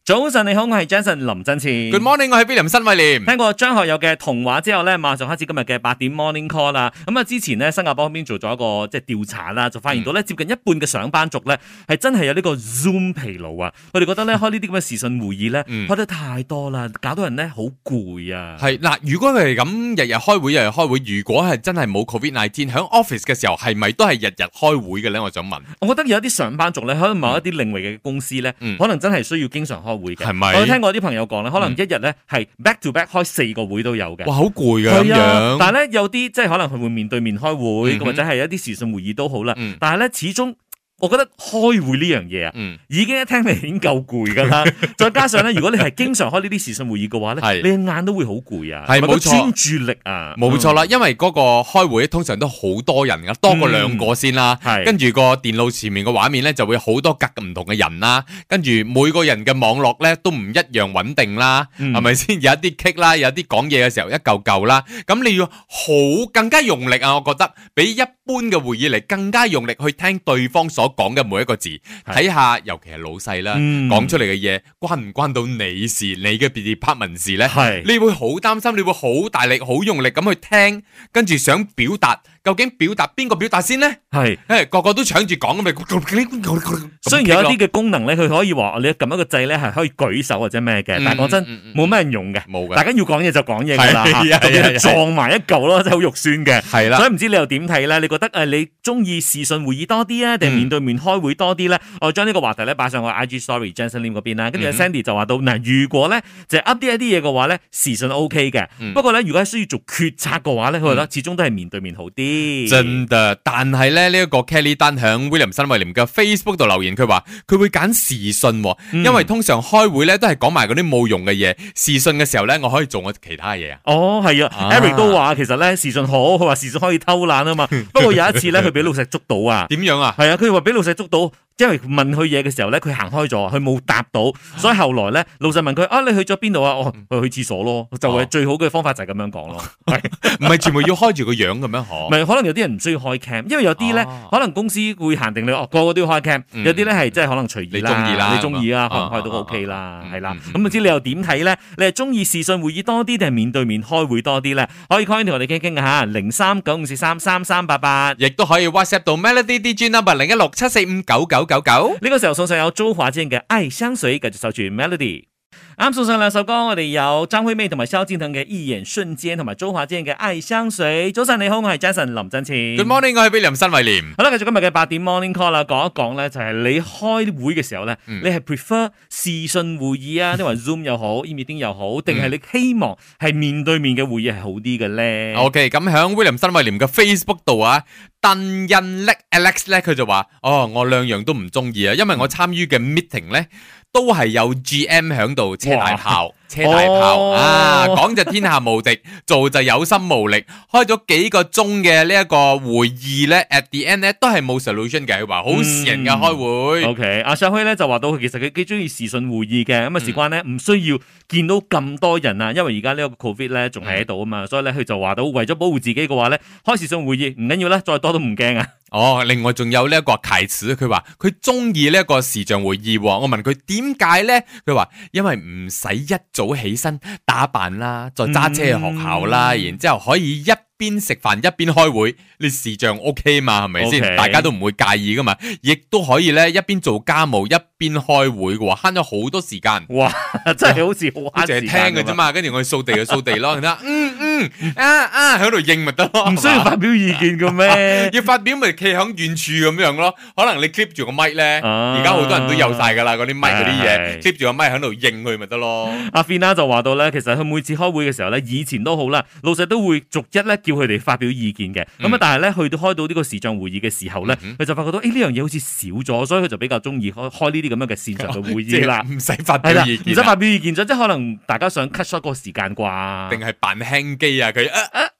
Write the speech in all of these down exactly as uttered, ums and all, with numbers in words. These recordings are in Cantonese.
早晨你好，我係 Jason 林振前。 Good morning， 我係 William 新偉廉。 聽過張學友嘅童話之後咧，馬上開始今日嘅八點 Morning Call 啦。咁啊，之前呢，新加坡嗰邊做咗一個即係調查啦，就發現到咧、嗯、接近一半嘅上班族咧係真係有呢個 Zoom 疲勞啊。佢哋覺得咧開呢啲咁嘅視訊會議咧、嗯、開得太多啦，搞到人咧好攰啊。 係嗱，如果佢係咁日日開會，日日開會，如果係真係冇 Covid 十九 喺 office 嘅時候，係咪都係日日開會嘅咧？我想問。 我覺得有一啲上班族咧，可能某一啲領域嘅公司咧、嗯，可能真係需要經常開會嘅。係咪？我聽過啲朋友講咧，可能一日咧係 back to back 開四個會都有嘅。哇，好攰㗎咁樣。但係咧有啲即係可能佢會面對面開會，嗯、或者係一啲視訊會議都好啦、嗯。但係咧始終。我覺得開會呢樣嘢啊，嗯、已經一聽你已經夠攰噶啦，再加上咧，如果你係經常開呢啲視訊會議嘅話咧，你嘅眼都會好攰啊，係冇錯，專注力啊，冇錯啦，因為嗰個開會通常都好多人噶，多過兩個先啦，嗯、跟住個電腦前面嘅畫面咧就會好多格唔同嘅人啦，跟住每個人嘅網絡咧都唔一樣穩定啦，係咪先？有一啲棘啦，有啲講嘢嘅時候一嚿嚿啦，咁你要好更加用力啊！我覺得比一般嘅會議嚟更加用力去聽對方所講嘅每一個字，睇下尤其係老細啦，講、嗯、出嚟嘅嘢關唔關到你事，你嘅 department 事咧？你會好擔心，你會好大力、好用力咁去聽，跟住想表達，究竟表達邊個表達先咧？係，誒個個都搶住講咁咪。雖然有一啲嘅功能咧，佢可以話你撳一個掣咧係可以舉手或者咩嘅、嗯，但係講真冇咩人用嘅，冇嘅。大家要講嘢就講嘢噶啦，嚇，撞埋一嚿咯，真係好肉酸嘅。係啦，所以唔知你又點睇咧？你覺得誒你中意視訊會議多啲啊，定係面對面開會多啲咧？我將呢個話題咧擺上我 I G Story Jensen Lim 嗰邊啦，跟住 Sandy 就話到嗱，如果咧就 update 一啲嘢嘅話咧，視訊 O K 嘅，不過咧如果係需要做決策嘅話咧，佢覺得始終都係面對面好啲。真嘅，但係咧呢一個 Kelly 丹響 William 新偉廉嘅 Facebook 度留言，佢話佢會揀視訊，因為通常開會咧都係講埋嗰啲冇用嘅嘢，視訊嘅時候咧我可以做我其他嘢啊。哦，係啊 ，Eric 都話其實咧視訊好，佢話視訊可以偷懶啊嘛。不過有一次咧佢俾老細捉到啊。點樣啊？係啊，佢話俾老細捉到。因為問佢嘢嘅時候咧，佢行開咗，佢冇答到，所以後來咧，老細問佢啊，你去咗邊度啊？哦，去去廁所咯，就係最好嘅方法就係咁樣講咯。唔係全部要開住個樣咁樣嗬？唔係，可能有啲人唔需要開 cam， 因為有啲咧、啊，可能公司會限定你哦，個個都要開 cam，、嗯、有啲咧係即係可能隨意啦，你中意啦，你中意啊，開唔開都 OK 啦，係、啊、啦。咁唔知你又點睇咧？你係中意視訊會議多啲定係面對面開會多啲咧？可以 call 同我哋傾傾吓，零三九五四三三三八八，亦都可以 WhatsApp 到 Melody D J number 零一六七四五九九九九。呢個時候送上有周華健嘅《愛相隨》，繼續守住 Melody。啱送上兩首歌，我哋有張惠妹同埋蕭敬騰嘅《一眼瞬間》，同埋周華健嘅《愛相隨》。早晨你好，我係 Jason 林振前。Good morning， 我係 William 新偉廉。好啦，繼續今日嘅八點 Morning Call 啦，講一講咧，就係你開會嘅時候咧、嗯，你係 prefer 視訊會議啊，定係 Zoom 又好 ，E-meeting 又好，定係你希望係面對面嘅會議係好啲嘅咧？OK， 咁響 William 新偉廉嘅 Facebook 度啊，鄧印叻 Alex 咧，佢就話：哦，我兩樣都唔中意啊，因為我參與嘅 meeting 咧。都係有 G M 響度車大炮，車大炮、哦、啊！講就天下無敵，做就有心無力。開咗幾個鐘嘅呢一個會議咧 ，at the end 咧都係冇 solution 嘅。佢話好蝕人嘅開會。O K， 阿 Shahi 咧就話到佢其實佢幾中意視訊會議嘅，咁啊事關咧唔需要見到咁多人啊，因為而家呢個 Covid 咧仲係喺度啊嘛，嗯、所以咧佢就話到為咗保護自己嘅話咧，開視訊會議唔緊要啦，再多都唔驚啊。哦，另外仲有呢一個啟齒，佢話佢中意呢一個視像會議。我問佢點解咧？佢話因為唔使一早起身打扮啦，再揸車去學校啦，嗯、然之後可以一邊食飯一邊開會，你視像 OK 嘛？係咪先？Okay. 大家都唔會介意噶嘛，亦都可以咧一邊做家務一邊開會嘅話，慳咗好多時間。哇，真係好似好慳時間。淨係聽嘅啫嘛，跟住我去掃地就掃地咯。嗯嗯啊啊，喺度應咪得咯，唔需要發表意見嘅咩？要發表咪企喺遠處咁樣咯。可能你 clip 住個咪咧，而家好多人都有晒噶啦，嗰啲咪嗰啲嘢 clip 住個咪喺度應佢咪得咯。阿 Fina 就話到咧，其實佢每次開會嘅時候咧，以前都好啦，老細都會逐一咧叫佢哋發表意見嘅。咁、嗯、啊，但係咧去到開到呢個視像會議嘅時候咧，佢、嗯、就發覺到誒呢樣嘢好似少咗，所以佢就比較中意開開呢啲咁樣嘅線上嘅會議啦，唔使發表意見，唔使發表意見咗，即係可能大家想 cut short 嗰個時間啩，定係扮輕機啊佢。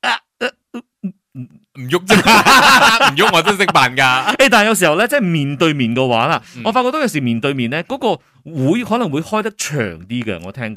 唔喐啫，唔喐我都識扮噶。誒，但係有時候咧，即係面對面嘅話啦、嗯，我發覺到有時面對面咧，嗰、那個會可能會開得長啲嘅。我聽講，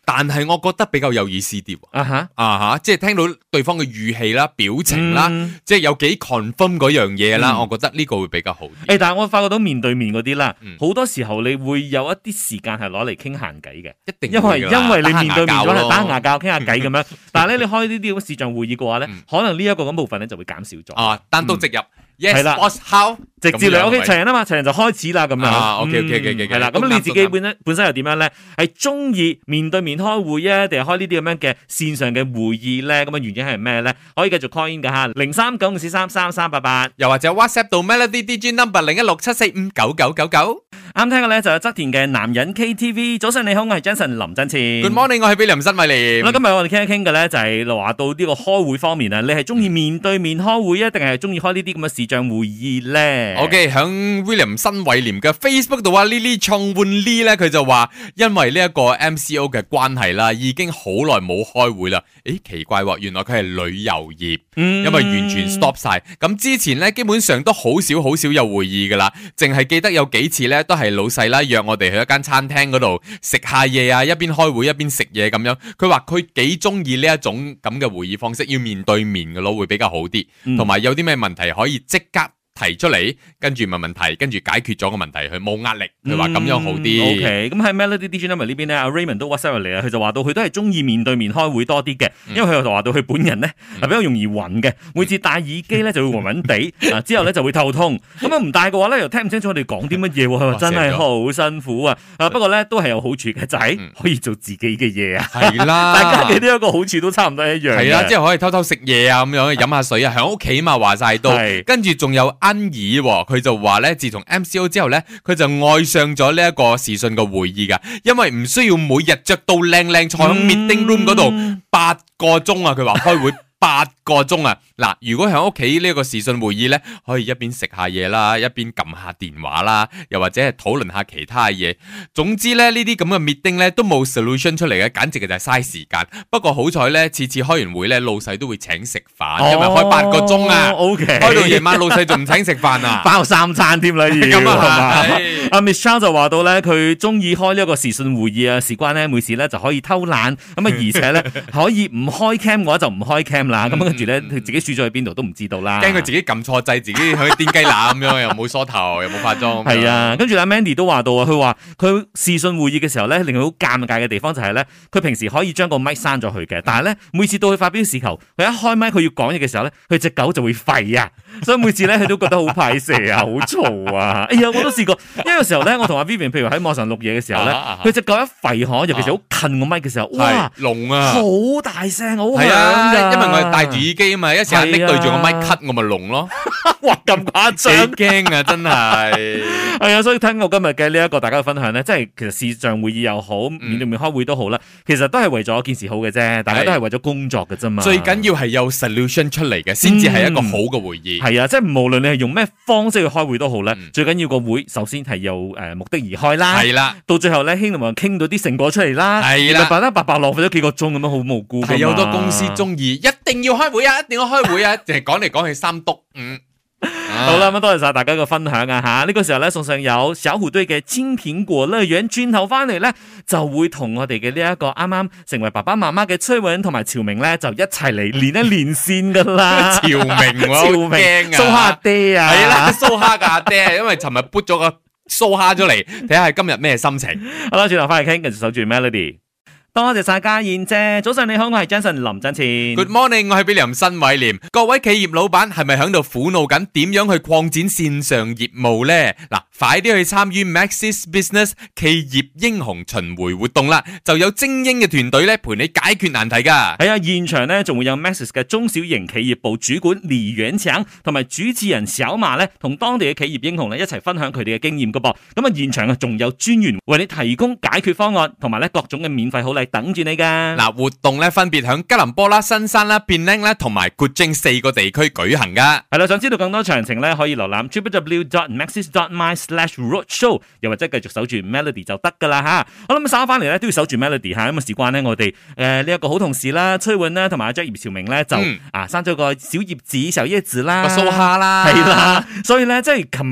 但係我覺得比較有意思啲。 啊哈啊哈，即係聽到對方嘅語氣啦、表情啦， 嗯、 即係有幾 confirm 嗰樣嘢啦，嗯、我覺得呢個會比較好啲。 誒，但係我發覺到面對面嗰啲啦，好、 嗯、 多時候你會有一啲時間係攞嚟傾閒偈嘅， 一定因為因為你面對面咗係打牙教傾下偈咁樣。但係咧，你開呢啲咁視像會議嘅話咧，嗯、可能呢一個咁部分咧就會減少咗。 啊，單刀直入。嗯係啦 Yes, how 直接嚟 OK 齊人啊嘛，齊人就開始啦咁樣。 啊 OK OK OK OK 係啦，咁你自己本身本身又點樣咧？係中意面對面開會啊，定係開呢啲咁樣嘅線上嘅會議咧？咁啊原因係咩咧？可以繼續 call in 噶吓，零三九五四三三三八八， 又或者 WhatsApp 到 Melody D J number 零一六七四五九九九九。 啱聽嘅咧就有側田嘅男人 K T V。早晨你好，我係 Jason 林振前。 Good morning， 我係 William 新偉廉。 咁今日我哋傾一傾嘅咧就係話到呢個開會方面啊，你係中意面對面開會啊，定係中意開呢啲咁嘅視像會議咧 ？OK，響 William 新偉廉嘅 Facebook 度啊 Lily 創換 Lee 咧，佢就話因為呢一個 M C O 嘅關係啦，已經好耐冇開會啦。誒，奇怪喎，原來佢係旅遊業，嗯、因為完全 stop 晒。咁之前咧基本上都好少好少有會議噶啦，淨係記得有幾次咧都係老細啦約我哋去一間餐廳嗰度食下嘢啊，一邊開會一邊食嘢咁樣。佢話佢幾中意呢一種咁嘅會議方式，要面對面嘅咯，會比較好啲，同埋、嗯、有啲咩問題可以即刻提出嚟，跟住問問題，跟住解決咗個問題，佢冇壓力，佢話咁樣好啲。 O K， 咁喺 Melody D J number 呢邊咧，阿 Raymond 都 WhatsApp 嚟啊，佢就話到佢都係中意面對面開會多啲嘅，因為佢又話到佢本人咧係比較容易暈嘅，每次戴耳機咧就會暈暈地，啊之後咧就會頭痛，咁樣唔戴嘅話咧又聽唔清楚我哋講啲乜嘢，佢話真係好辛苦啊！啊不過咧都係有好處嘅，就係、是、可以做自己嘅嘢啊。係啦，大家嘅呢一個好處都差唔多一樣。 係啦，即係可以偷偷食嘢啊，咁樣飲下水啊，喺屋企嘛話晒都，跟住仲有。安怡佢就話咧，自從 M C O 之後咧，佢就愛上咗呢一個視訊嘅會議噶，因為唔需要每日着到靚靚坐喺 meeting room 嗰度八個鐘啊，佢話開會八個鐘啊！嗱，如果喺屋企呢個視訊會議咧，可以一邊食下嘢啦，一邊撳下電話啦，又或者係討論下其他嘢。總之咧，呢啲咁嘅 meeting 咧都冇 solution 出嚟嘅，簡直嘅就係嘥時間。不過好彩咧，次次開完會咧，老細都會請食飯，哦、因為開八個鐘啊。O K， 開到夜晚老細仲唔請食飯啊？包三餐添啦，已經係嘛？阿 Miss Chow 就話到咧，佢中意開呢一個視訊會議啊，事關咧每次咧就可以偷懶，咁啊而且咧可以唔開 cam 嘅話就唔開 cam 啦。咁跟住咧，佢自己輸咗去邊度都唔知道啦。驚佢自己撳錯掣，自己去癲雞乸咁樣，又冇梳頭，又冇化妝。係啊，跟住阿 Mandy 都話到啊，佢話佢視訊會議嘅時候咧，令佢好尷尬嘅地方就係咧，佢平時可以將個麥閂咗佢嘅，但係咧每次到佢發表時候，佢一開麥佢要講嘢嘅時候咧，佢隻狗就會吠啊，所以每次咧佢都覺得好排蛇啊，好嘈啊。哎呀，我都試過，因為有時候咧，我同阿 Vivian 譬如喺網上錄嘢嘅時候咧，佢隻狗一吠可，尤其是好近個麥嘅時候，哇，聾啊，好大聲，好響㗎，因為我戴住耳機啊嘛，一時間拎對住個麥咳，我咪聾咯。哇，咁誇張，幾驚啊，真係。係啊，所以聽我今日嘅呢一個大家嘅分享咧，即係其實視像會議又好，面對面開會都好啦，其實都係為咗件事好嘅啫，大家都係為咗工作嘅啫嘛。最緊要係有 solution 出嚟嘅，先至係一個好嘅會議。係啊，即係無論你係用咩方式去開會都好咧，最緊要個會首先係有誒目的而開啦。係啦，到最後咧，希望傾到啲成果出嚟啦。係啦，白得白白浪費咗幾個鐘咁樣，好無辜。係有好多公司中意一定要開會啊，一定要開會啊，淨係講嚟講去三督五。好啦，咁多謝晒大家嘅分享啊吓！呢、這個時候咧，送上有小虎隊嘅青蘋果樂園，轉頭翻嚟咧就會同我哋嘅呢一個啱啱成為爸爸媽媽嘅崔允同埋朝明咧，就一齊嚟練一練先噶啦。朝明，朝明，蘇蝦爹啊，係啦，蘇蝦嘅阿爹，因為尋日撥咗個蘇蝦出嚟，睇下今日咩心情。好啦，轉頭翻嚟傾，繼續守住 Melody。多謝晒家燕姐，早上你好，我係 Jason 林振前。Good morning， 我係 William 新偉廉。各位企業老闆係咪響度苦惱緊點樣去擴展線上業務呢？嗱，快啲去參與 Maxis Business 企業英雄巡迴活動啦，就有精英嘅團隊咧陪你解決難題噶。係啊，現場咧仲會有 Maxis 嘅中小型企業部主管李元強同埋主持人小馬咧，同當地嘅企業英雄咧一齊分享佢哋嘅經驗噶噃。咁啊，現場啊仲有專員為你提供解決方案，同埋咧各種嘅免費好禮等住你噶。嗱，活動咧分別響吉隆坡啦、新山啦、Penang啦同埋古晉四個地區舉行噶。係啦，想知道更多詳情咧，可以瀏覽 w w w dot maxis dot my slash roadshow， 又或者繼續守住 Melody 就得噶啦吓。好啦，咁稍後翻嚟咧都要守住 Melody 吓，咁啊事關咧我哋誒呢一個好同事啦，崔允啦同埋阿 Jack 葉朝明咧就、嗯、啊生咗個小葉子、小葉子啦，個蘇蝦啦，係啦，所以咧即係琴日咧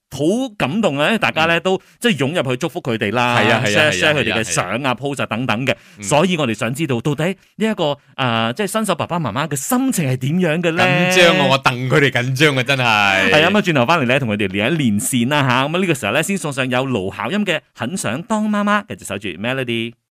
好感動啊！大家咧都即係湧入去祝福佢哋啦，share share 佢哋嘅相啊、post 等等嘅，所以我哋想知道到底呢一個誒即係新手爸爸媽媽嘅心情係點樣嘅咧？ 緊張啊！我戥佢哋緊張啊！真係係啊！咁啊，轉頭翻嚟咧，同佢哋連一連線啦吓，咁啊呢個時候咧，先送上有盧巧音嘅《很想當媽媽》，繼續守住 Melody。